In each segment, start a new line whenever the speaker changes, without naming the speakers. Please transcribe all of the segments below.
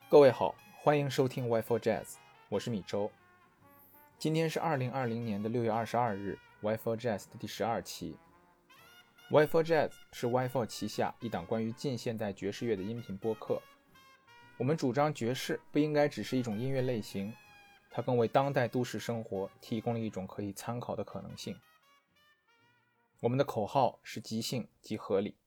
各位好，欢迎收听 Y4 Jazz， 我是米周。今天是2020年的6月22日 Y4 Jazz 的第12期。Y4 Jazz 是 Y4 旗下一档关于近现代爵士乐的音频播客。我们主张爵士不应该只是一种音乐类型，它更为当代都市生活提供了一种可以参考的可能性。我们的口号是即兴即合理。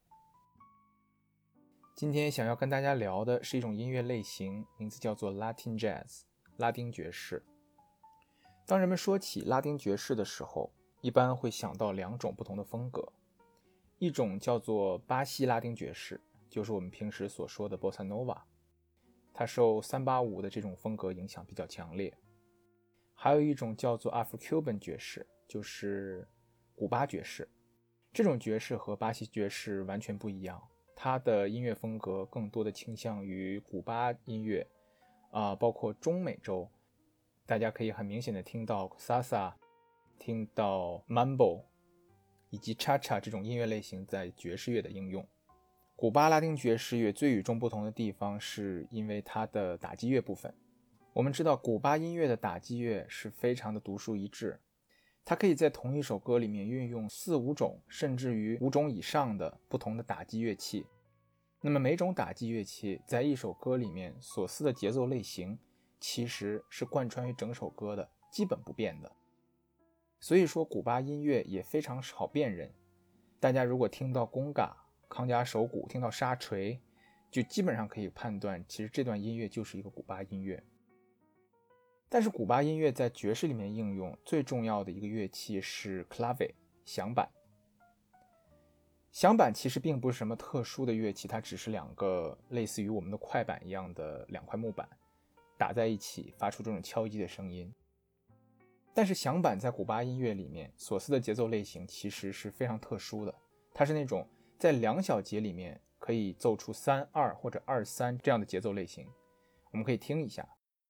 今天想要跟大家聊的是一种音乐类型，名字叫做 Latin Jazz， 拉丁爵士。当人们说起拉丁爵士的时候，一般会想到两种不同的风格，一种叫做巴西拉丁爵士，就是我们平时所说的 Bossa Nova， 它受385的这种风格影响比较强烈。还有一种叫做 Afro-Cuban 爵士，就是古巴爵士。这种爵士和巴西爵士完全不一样，它的音乐风格更多的倾向于古巴音乐，包括中美洲，大家可以很明显的听到 Salsa， 听到 Mambo 以及 Cha-Cha 这种音乐类型在爵士乐的应用。古巴拉丁爵士乐最与众不同的地方是因为它的打击乐部分。我们知道古巴音乐的打击乐是非常的独树一帜，它可以在同一首歌里面运用4-5种甚至于5种以上的不同的打击乐器。那么每种打击乐器在一首歌里面所思的节奏类型其实是贯穿于整首歌的，基本不变的。所以说古巴音乐也非常好辨认，大家如果听到公嘎、康加手鼓，听到沙锤，就基本上可以判断其实这段音乐就是一个古巴音乐。但是古巴音乐在爵士里面应用最重要的一个乐器是 clave 响板。响板其实并不是什么特殊的乐器，它只是两个类似于我们的快板一样的两块木板打在一起发出这种敲击的声音。但是响板在古巴音乐里面所思的节奏类型其实是非常特殊的，它是那种在2小节里面可以奏出3-2或者2-3这样的节奏类型。我们可以听一下。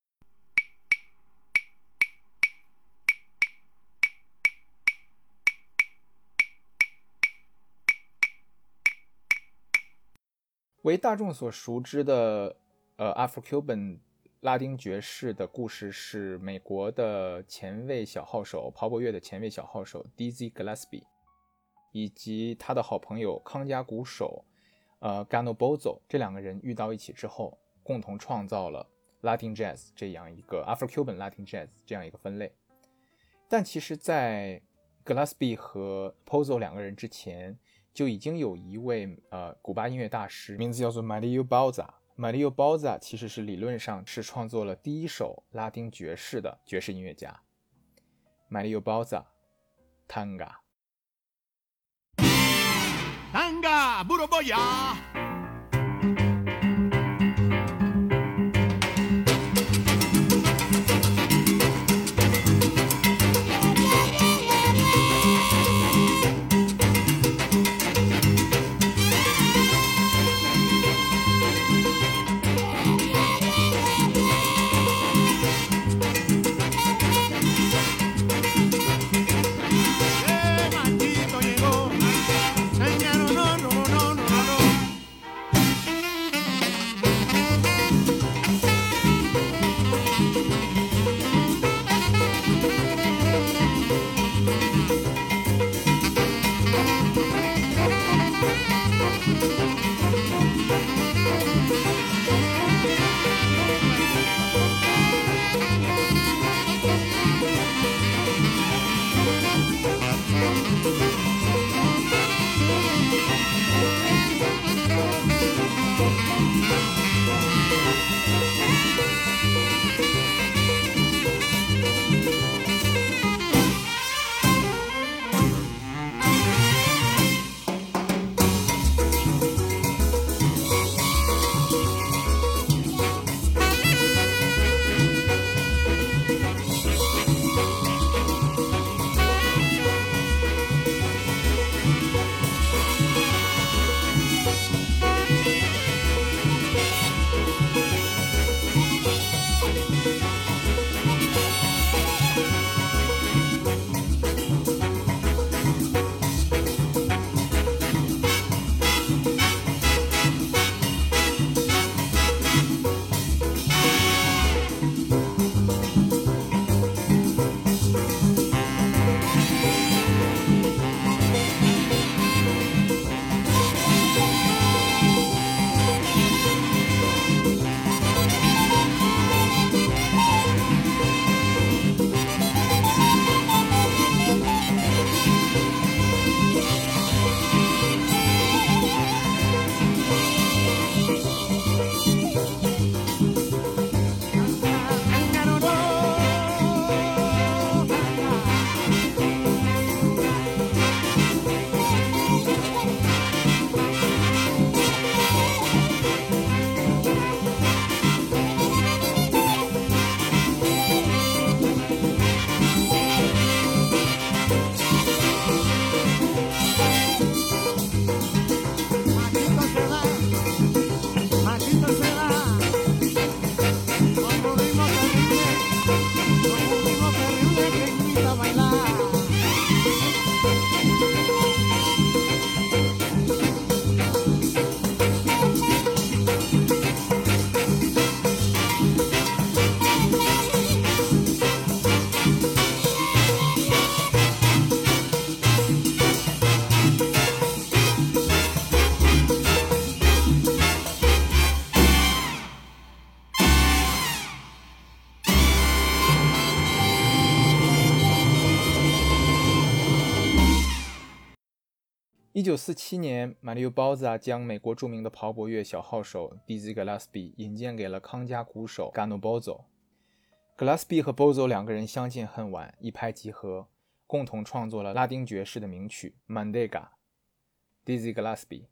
为大众所熟知的Afro-Cuban 拉丁爵士的故事是美国的前卫小号手，鲍勃乐的前卫小号手 Dizzy Gillespie 以及他的好朋友康加鼓手Gano Bozzo 这两个人遇到一起之后，共同创造了 Latin Jazz 这样一个 Afro-Cuban Latin Jazz 这样一个分类。但其实在 Gillespie 和 Bozzo 两个人之前就已经有一位古巴音乐大师，名字叫做 Mario Bauza。Mario Bauza 其实是理论上是创作了第一首拉丁爵士的爵士音乐家。Mario Bauza Tanga
Burro Boya
1947年，马里奥·包扎将美国著名的刨博乐小号手 Dizzy Gillespie 引荐给了康佳鼓手 Gano Bozzo。Gillespie 和 Bozzo 两个人相见恨晚，一拍即合，共同创作了拉丁爵士的名曲 Mandega。Dizzy Gillespie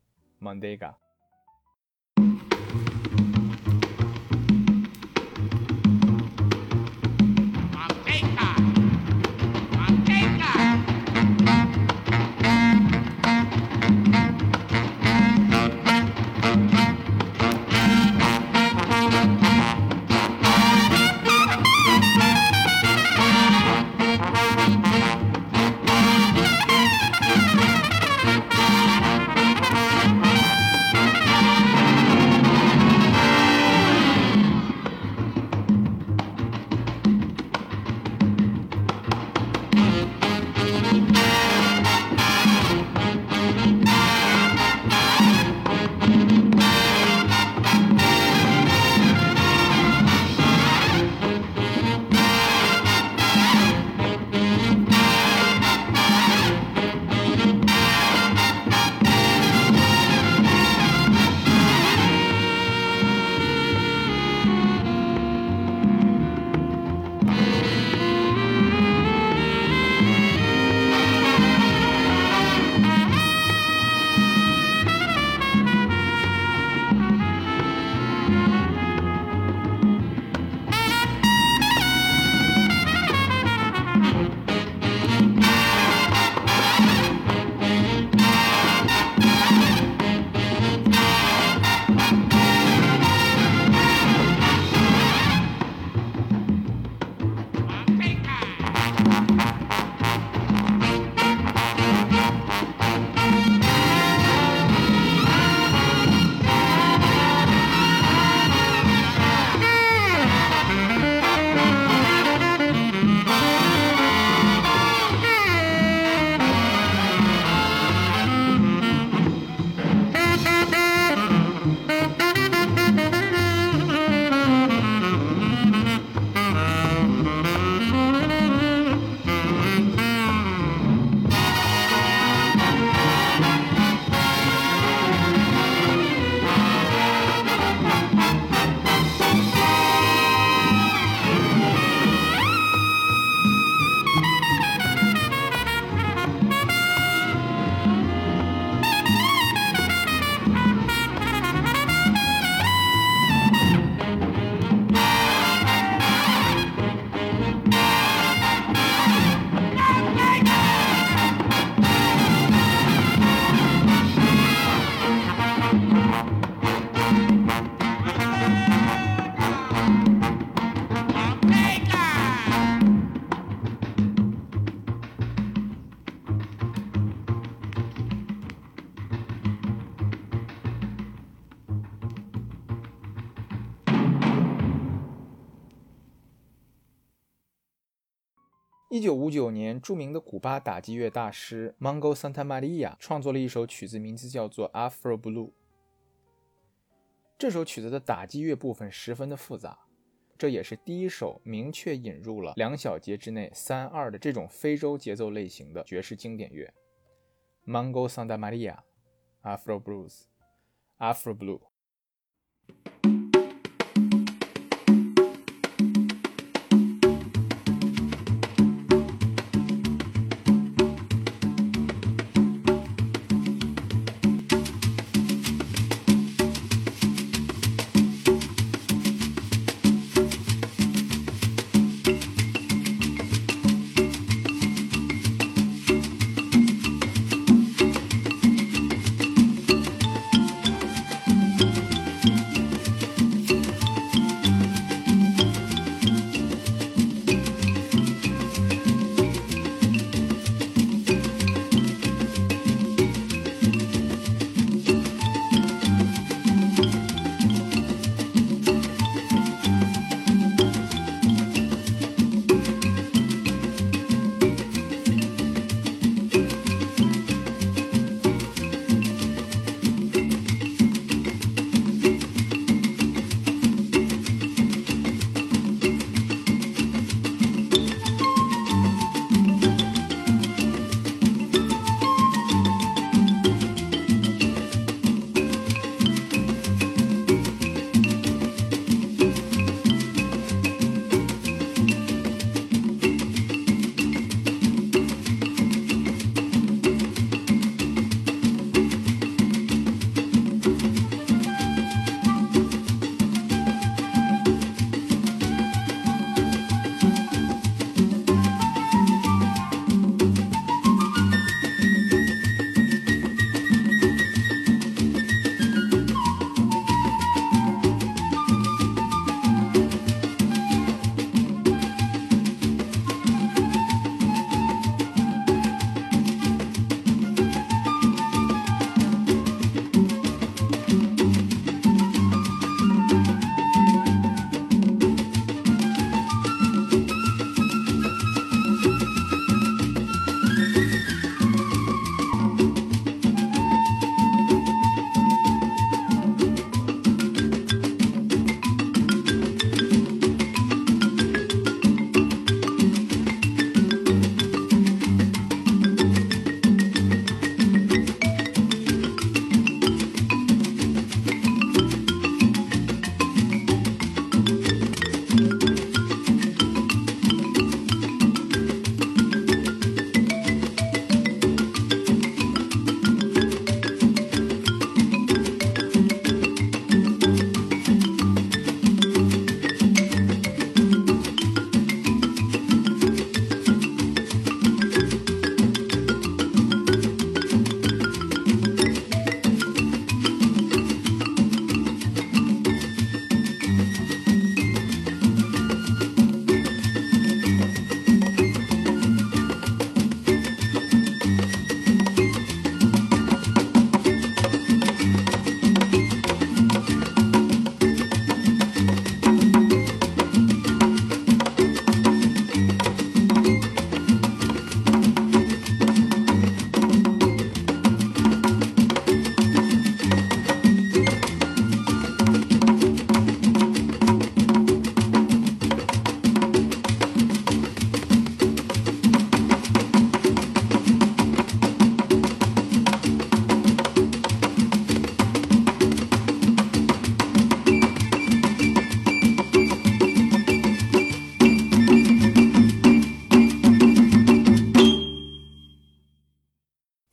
Mandega。1959年，著名的古巴打击乐大师 Mongo Santamaria 创作了一首曲子，名字叫做 Afro Blue。这首曲子的打击乐部分十分的复杂，这也是第一首明确引入了2小节之内3/2的这种非洲节奏类型的爵士经典乐。Mongo Santamaria Afro Blues Afro Blue。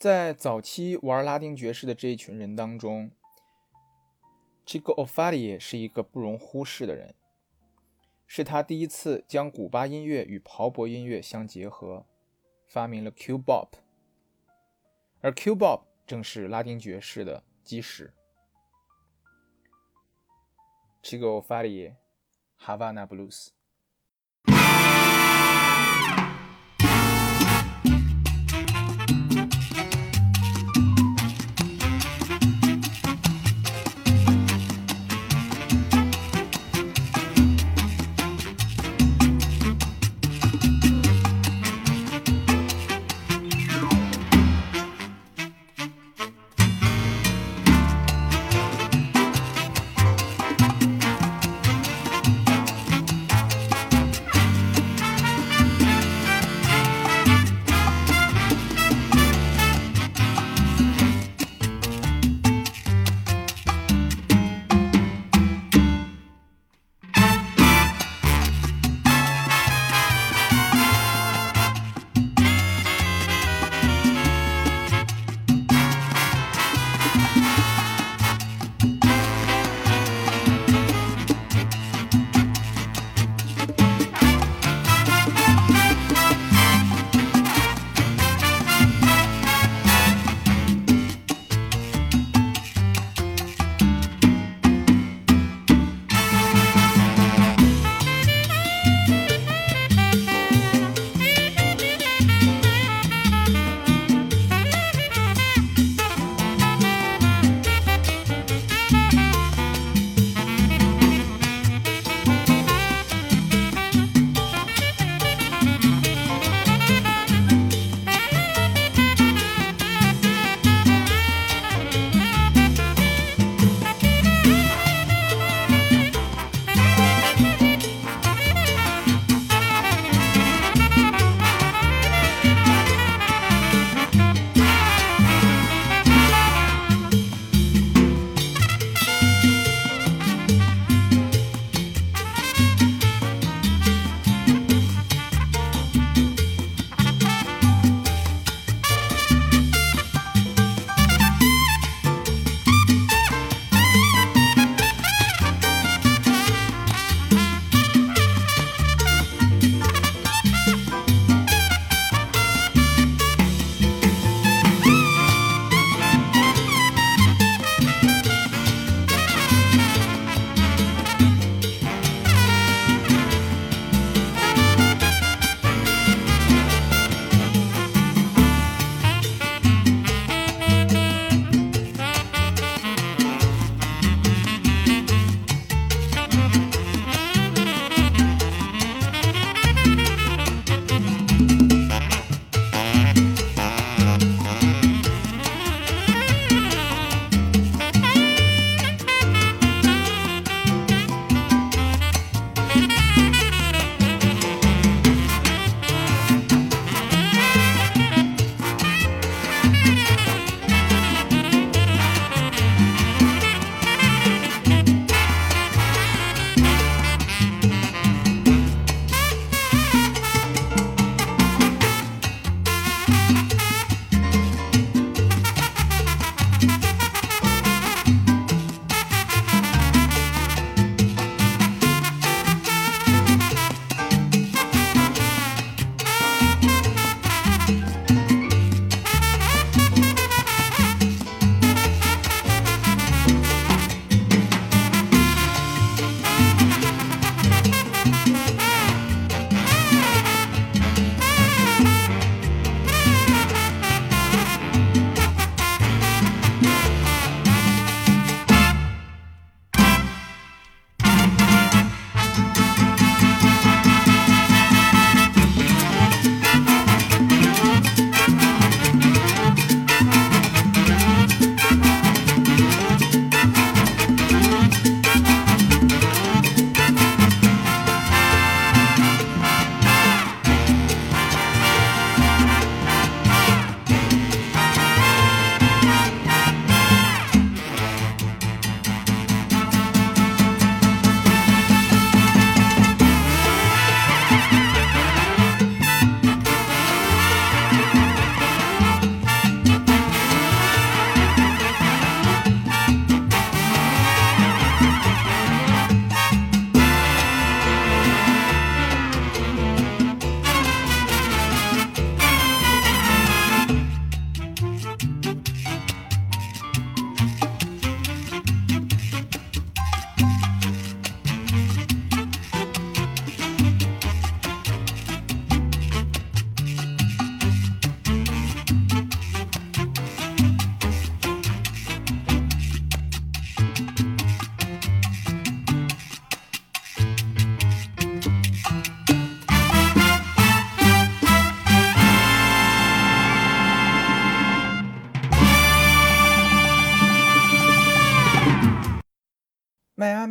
在早期玩拉丁爵士的这一群人当中， Chico O'Fallaye 是一个不容忽视的人，是他第一次将古巴音乐与鲍勃音乐相结合，发明了 Q-Bop， 而 Q-Bop 正是拉丁爵士的基石。Chico O'Fallaye Havana Blues。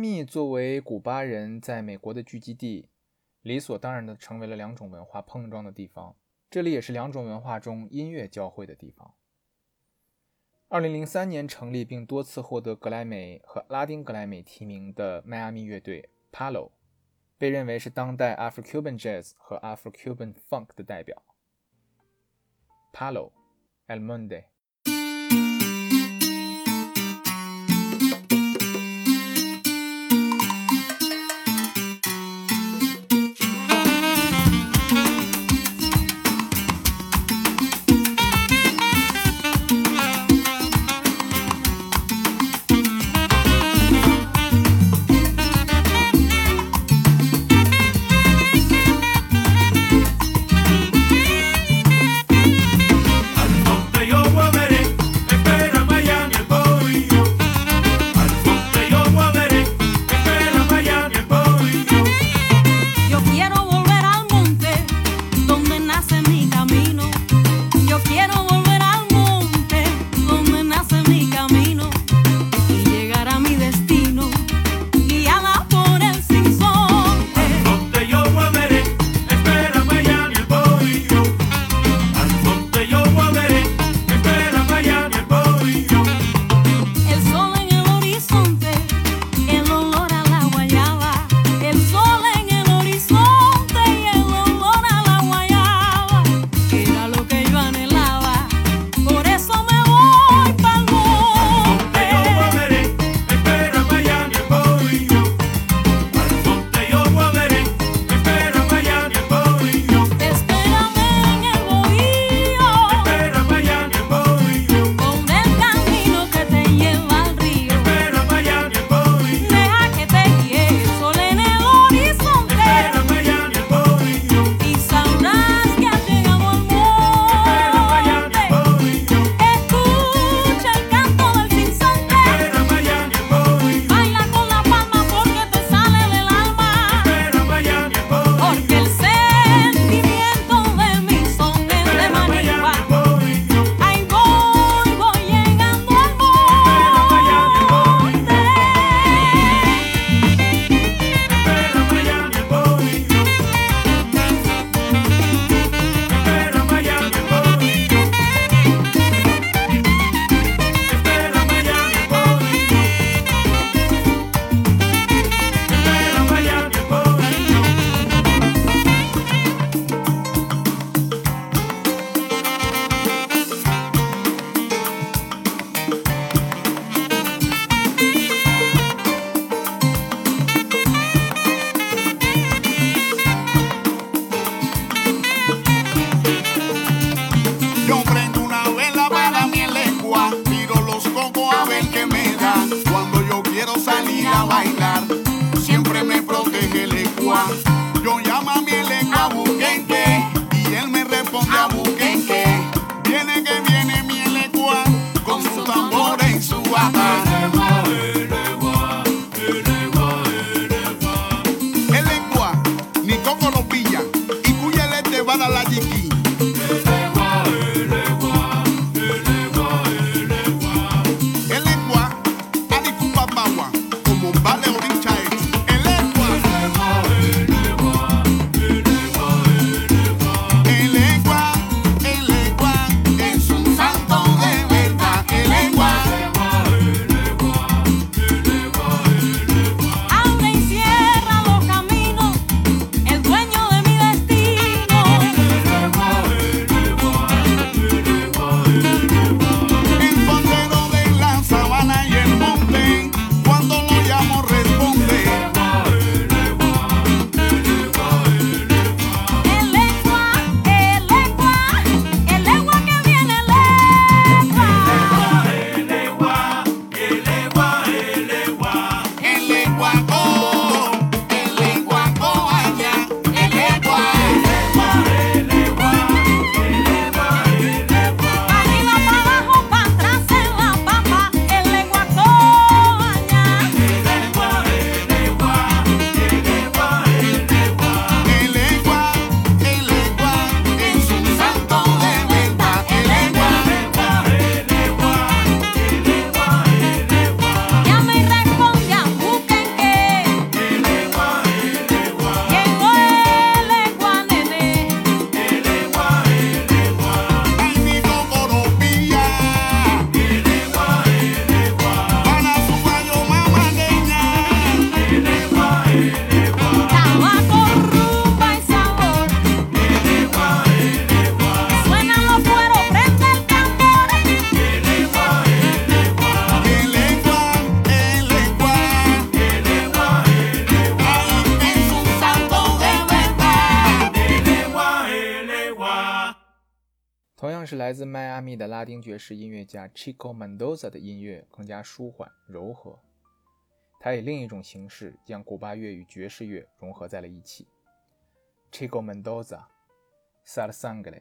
密作为古巴人在美国的聚集地，理所当然地成为了两种文化碰撞的地方，这里也是两种文化中音乐交汇的地方。2003年成立并多次获得格莱美和拉丁格莱美提名的迈阿密乐队 Palo， 被认为是当代 Afro-Cuban Jazz 和 Afro-Cuban Funk 的代表。Palo El Monde。
Vale, Orincha, el
像是来自迈阿密的拉丁爵士音乐家 Chico Mendoza 的音乐更加舒缓柔和，他以另一种形式将古巴乐与爵士乐融合在了一起。Chico Mendoza Sal Sangre。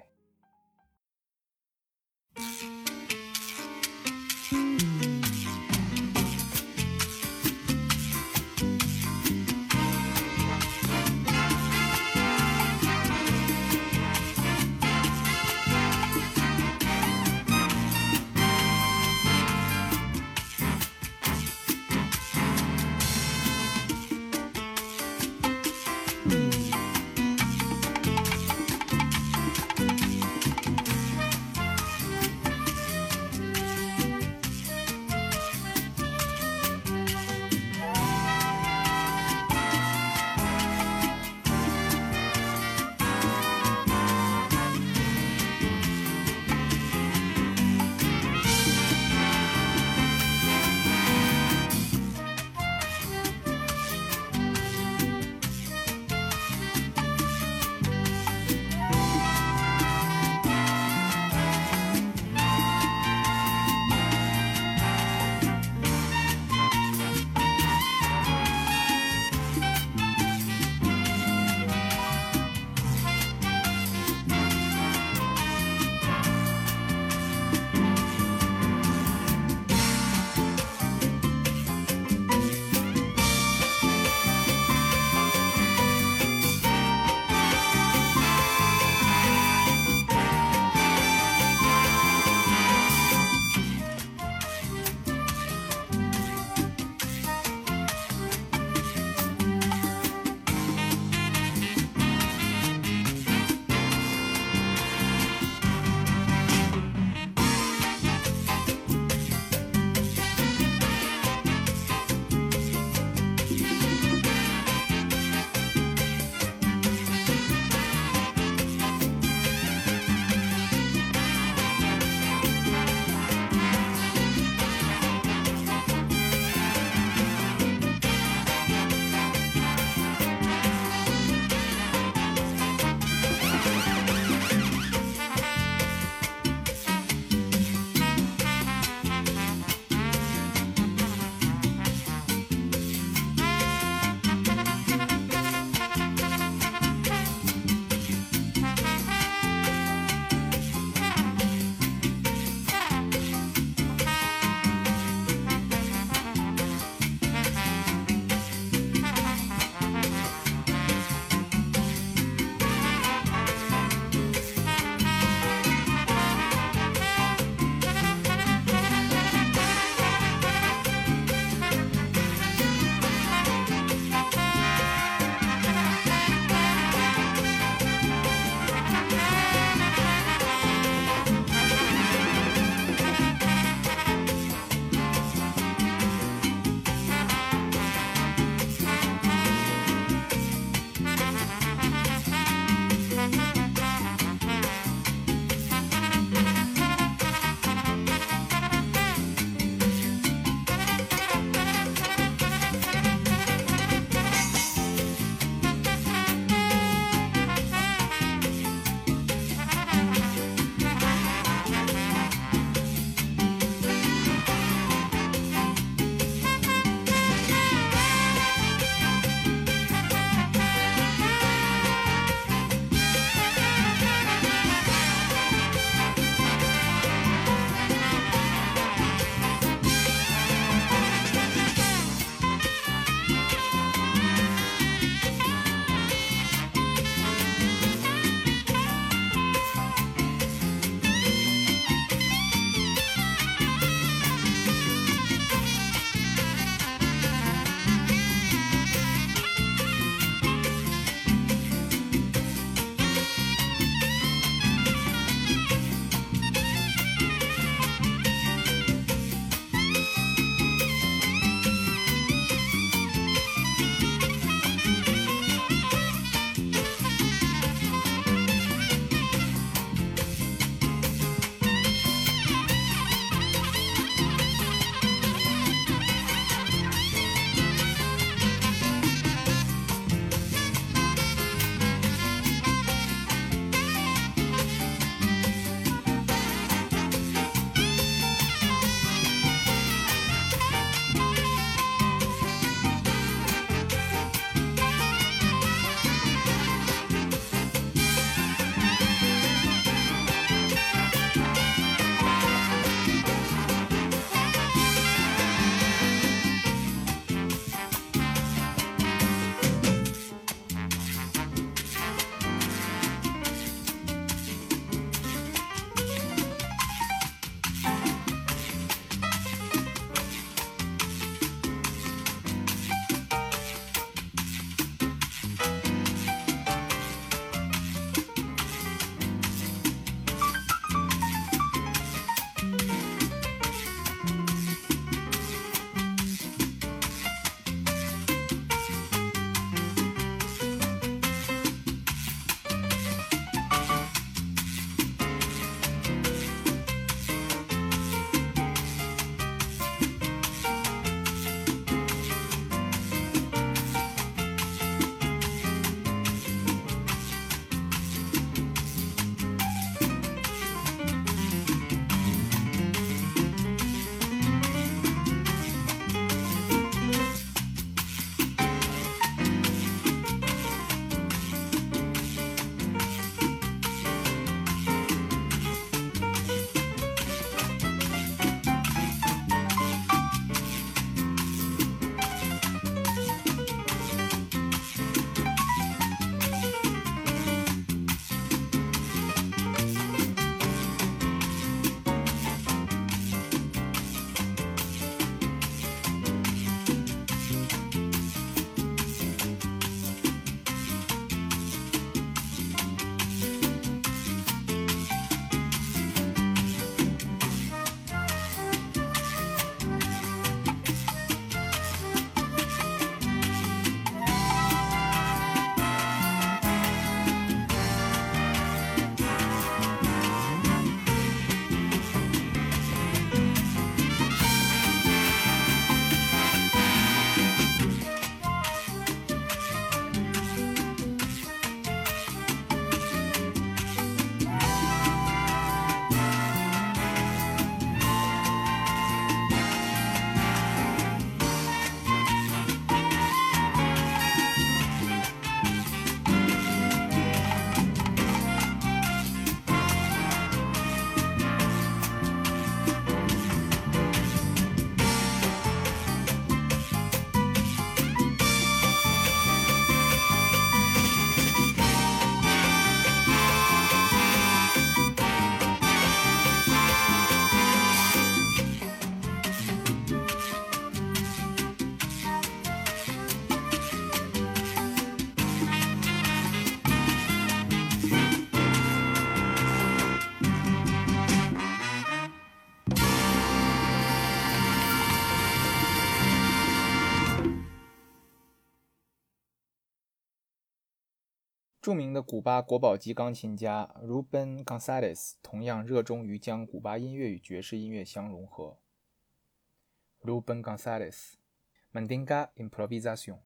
著名的古巴国宝级钢琴家 Ruben Gonzalez 同样热衷于将古巴音乐与爵士音乐相融合。Ruben Gonzalez Mandinga Improvisación。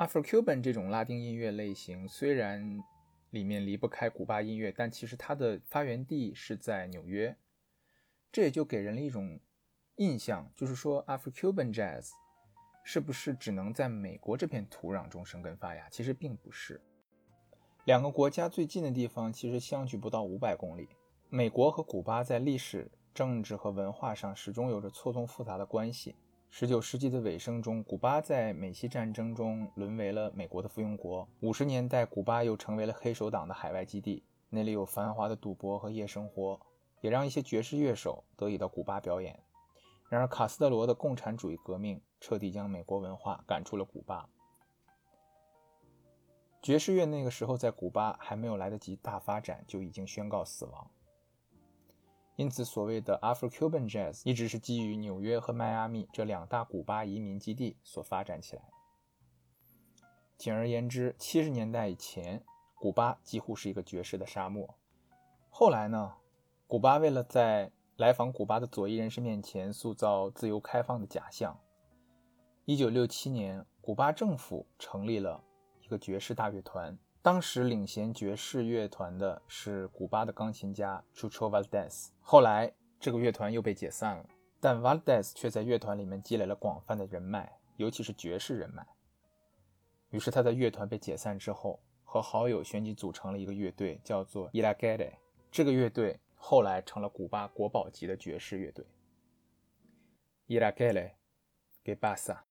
Afro-Cuban 这种拉丁音乐类型虽然里面离不开古巴音乐，但其实它的发源地是在纽约。这也就给人了一种印象，就是说 Afro-Cuban Jazz 是不是只能在美国这片土壤中生根发芽？其实并不是。两个国家最近的地方其实相距不到500公里。美国和古巴在历史、政治和文化上始终有着错综复杂的关系。19世纪的尾声中，古巴在美西战争中沦为了美国的附庸国。50年代，古巴又成为了黑手党的海外基地，那里有繁华的赌博和夜生活，也让一些爵士乐手得以到古巴表演。然而卡斯特罗的共产主义革命彻底将美国文化赶出了古巴。爵士乐那个时候在古巴还没有来得及大发展，就已经宣告死亡。因此所谓的 Afro-Cuban Jazz 一直是基于纽约和迈阿密这两大古巴移民基地所发展起来的。简而言之，70年代以前，古巴几乎是一个爵士的沙漠。后来呢，古巴为了在来访古巴的左翼人士面前塑造自由开放的假象，1967年，古巴政府成立了一个爵士大乐团。当时领衔爵士乐团的是古巴的钢琴家 Chucho Valdés。 后来这个乐团又被解散了，但 Valdés 却在乐团里面积累了广泛的人脉，尤其是爵士人脉。于是他在乐团被解散之后，和好友旋即组成了一个乐队，叫做 Iraquere。 这个乐队后来成了古巴国宝级的爵士乐队。 Iraquere ¿Qué pasa？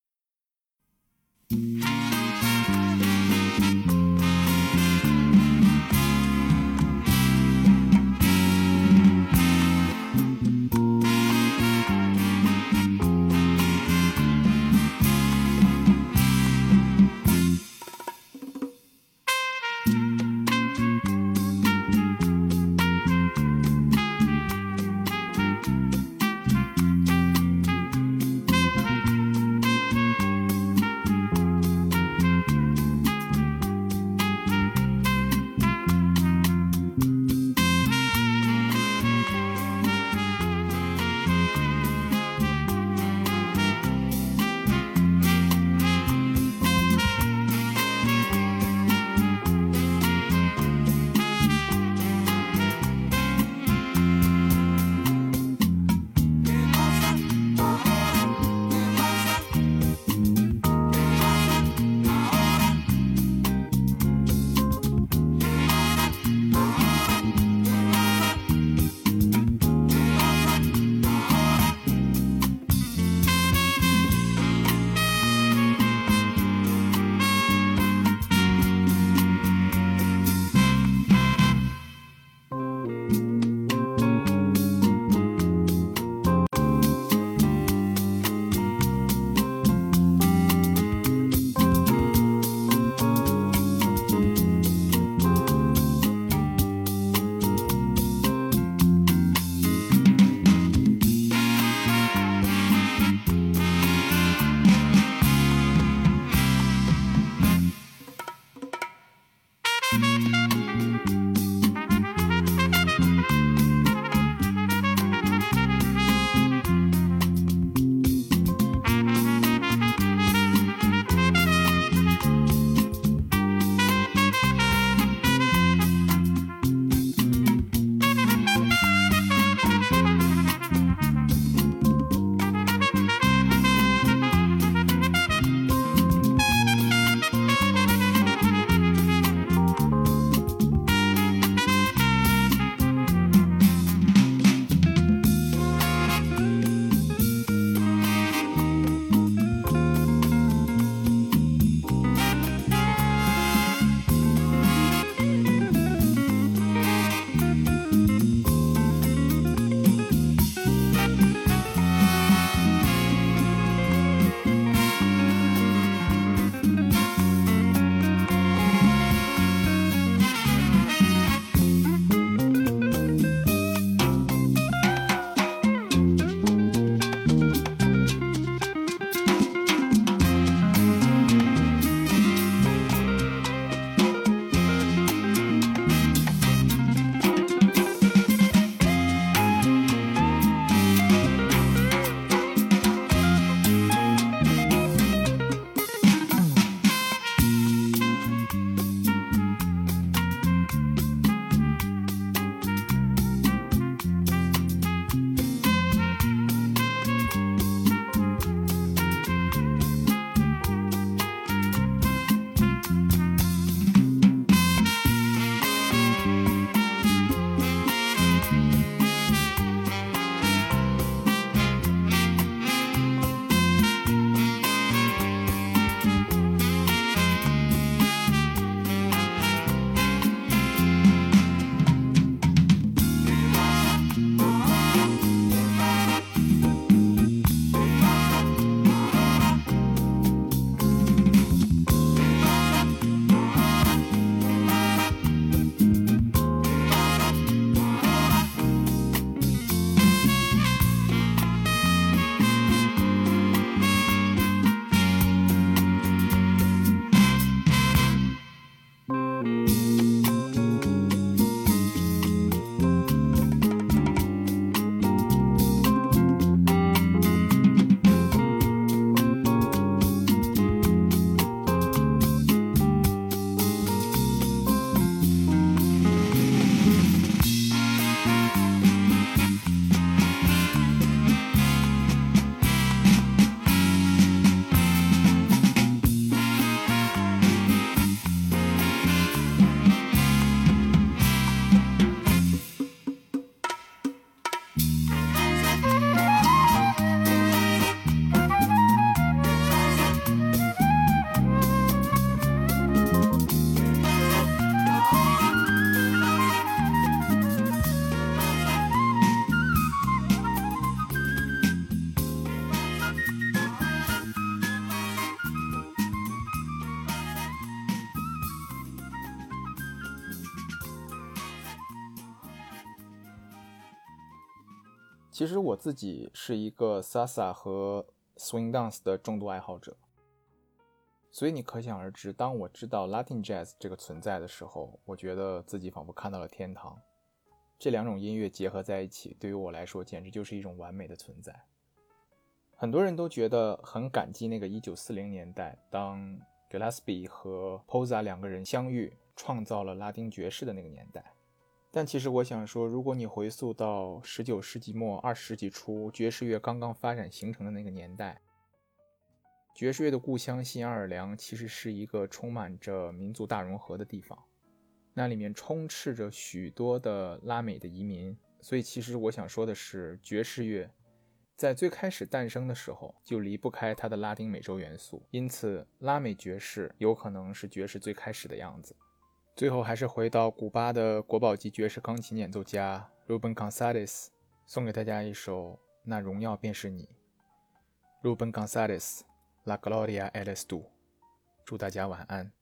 其实我自己是一个 Salsa 和 Swing Dance 的重度爱好者，所以你可想而知，当我知道 Latin Jazz 这个存在的时候，我觉得自己仿佛看到了天堂。这两种音乐结合在一起，对于我来说简直就是一种完美的存在。很多人都觉得很感激那个1940年代，当 Gillespie 和 Posa 两个人相遇，创造了拉丁爵士的那个年代。但其实我想说，如果你回溯到19世纪末20世纪初爵士乐刚刚发展形成的那个年代，爵士乐的故乡新奥尔良其实是一个充满着民族大融合的地方，那里面充斥着许多的拉美的移民。所以其实我想说的是，爵士乐在最开始诞生的时候就离不开它的拉丁美洲元素，因此拉美爵士有可能是爵士最开始的样子。最后还是回到古巴的国宝级爵士钢琴演奏家 Rubén González， 送给大家一首《那荣耀便是你》。 Rubén González La Gloria eres tú。 祝大家晚安。